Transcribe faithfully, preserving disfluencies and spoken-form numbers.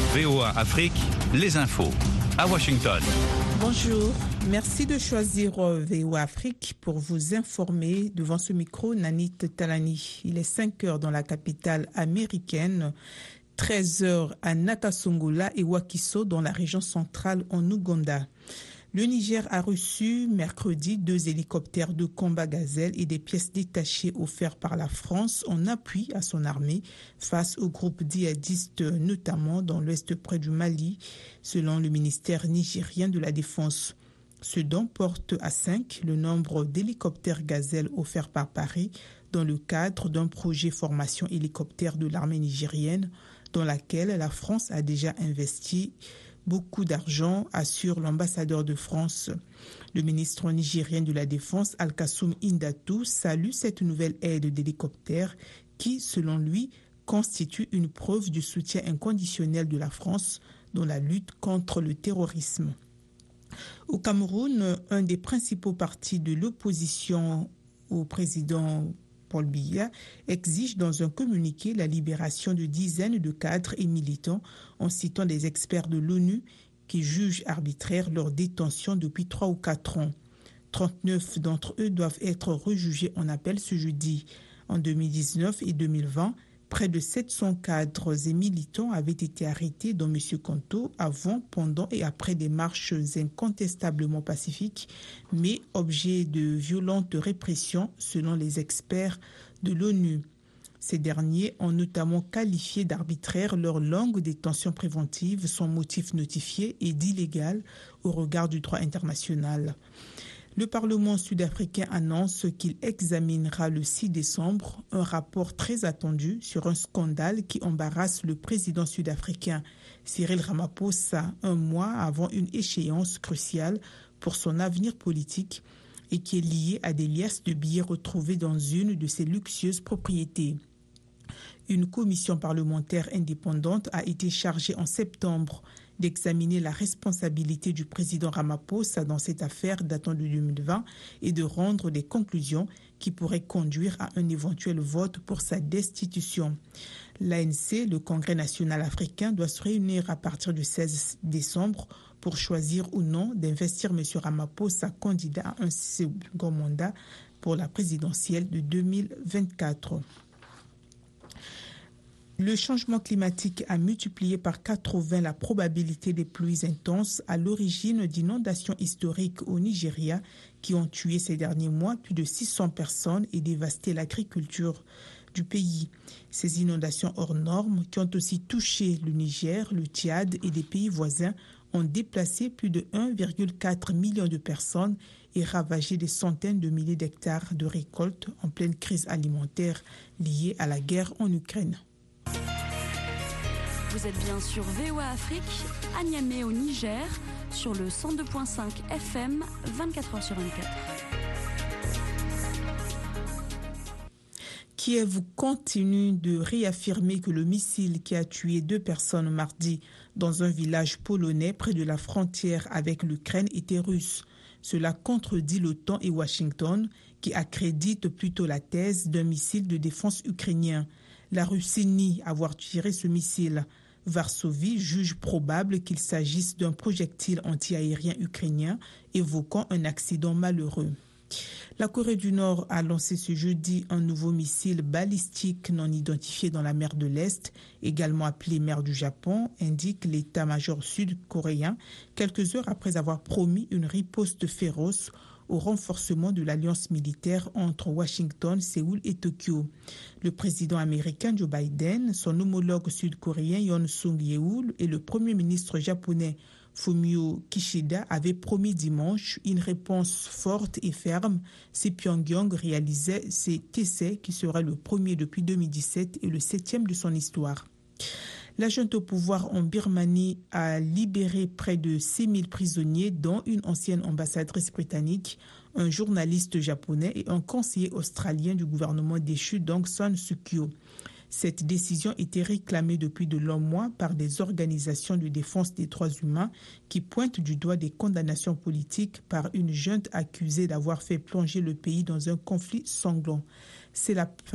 V O A Afrique, les infos à Washington. Bonjour, merci de choisir V O A Afrique pour vous informer. Devant ce micro, Nanit Talani. Il est cinq heures dans la capitale américaine, treize heures à Nakasongola et Wakiso dans la région centrale en Ouganda. Le Niger a reçu mercredi deux hélicoptères de combat Gazelle et des pièces détachées offertes par la France en appui à son armée face aux groupes djihadistes, notamment dans l'ouest près du Mali, selon le ministère nigérien de la Défense. Ce don porte à cinq le nombre d'hélicoptères Gazelle offerts par Paris dans le cadre d'un projet formation hélicoptère de l'armée nigérienne dans laquelle la France a déjà investi beaucoup d'argent, assure l'ambassadeur de France. Le ministre nigérien de la Défense, Al-Kassoum Indatou, salue cette nouvelle aide d'hélicoptères qui, selon lui, constitue une preuve du soutien inconditionnel de la France dans la lutte contre le terrorisme. Au Cameroun, un des principaux partis de l'opposition au président Paul Biya exige dans un communiqué la libération de dizaines de cadres et militants en citant des experts de l'ONU qui jugent arbitraire leur détention depuis trois ou quatre ans. trente-neuf d'entre eux doivent être rejugés en appel ce jeudi. En deux mille dix-neuf et deux mille vingt, près de sept cents cadres et militants avaient été arrêtés, dont M. Kanto, avant, pendant et après des marches incontestablement pacifiques, mais objets de violentes répressions selon les experts de l'ONU. Ces derniers ont notamment qualifié d'arbitraire leur longue détention préventive sans motif notifié et d'illégale au regard du droit international. Le Parlement sud-africain annonce qu'il examinera le six décembre un rapport très attendu sur un scandale qui embarrasse le président sud-africain Cyril Ramaphosa un mois avant une échéance cruciale pour son avenir politique et qui est lié à des liasses de billets retrouvés dans une de ses luxueuses propriétés. Une commission parlementaire indépendante a été chargée en septembre d'examiner la responsabilité du président Ramaphosa dans cette affaire datant de deux mille vingt et de rendre des conclusions qui pourraient conduire à un éventuel vote pour sa destitution. L'A N C, le Congrès national africain, doit se réunir à partir du seize décembre pour choisir ou non d'investir M. Ramaphosa candidat à un second mandat pour la présidentielle de deux mille vingt-quatre. Le changement climatique a multiplié par quatre-vingts la probabilité des pluies intenses à l'origine d'inondations historiques au Nigeria qui ont tué ces derniers mois plus de six cents personnes et dévasté l'agriculture du pays. Ces inondations hors normes qui ont aussi touché le Niger, le Tchad et des pays voisins ont déplacé plus de un virgule quatre million de personnes et ravagé des centaines de milliers d'hectares de récoltes en pleine crise alimentaire liée à la guerre en Ukraine. Vous êtes bien sur V O A Afrique, à Niamey au Niger, sur le cent deux virgule cinq F M, vingt-quatre heures sur vingt-quatre. Kiev continue de réaffirmer que le missile qui a tué deux personnes mardi dans un village polonais près de la frontière avec l'Ukraine était russe. Cela contredit l'OTAN et Washington, qui accréditent plutôt la thèse d'un missile de défense ukrainien. La Russie nie avoir tiré ce missile. Varsovie juge probable qu'il s'agisse d'un projectile antiaérien ukrainien, évoquant un accident malheureux. La Corée du Nord a lancé ce jeudi un nouveau missile balistique non identifié dans la mer de l'Est, également appelé mer du Japon, indique l'état-major sud-coréen, quelques heures après avoir promis une riposte féroce au renforcement de l'alliance militaire entre Washington, Séoul et Tokyo. Le président américain Joe Biden, son homologue sud-coréen Yoon Suk-yeol et le premier ministre japonais Fumio Kishida avaient promis dimanche une réponse forte et ferme si Pyongyang réalisait cet essai qui serait le premier depuis deux mille dix-sept et le septième de son histoire. La junte au pouvoir en Birmanie a libéré près de six mille prisonniers, dont une ancienne ambassadrice britannique, un journaliste japonais et un conseiller australien du gouvernement déchu d'Aung San Suu Kyi. Cette décision était réclamée depuis de longs mois par des organisations de défense des droits humains qui pointent du doigt des condamnations politiques par une junte accusée d'avoir fait plonger le pays dans un conflit sanglant. C'est la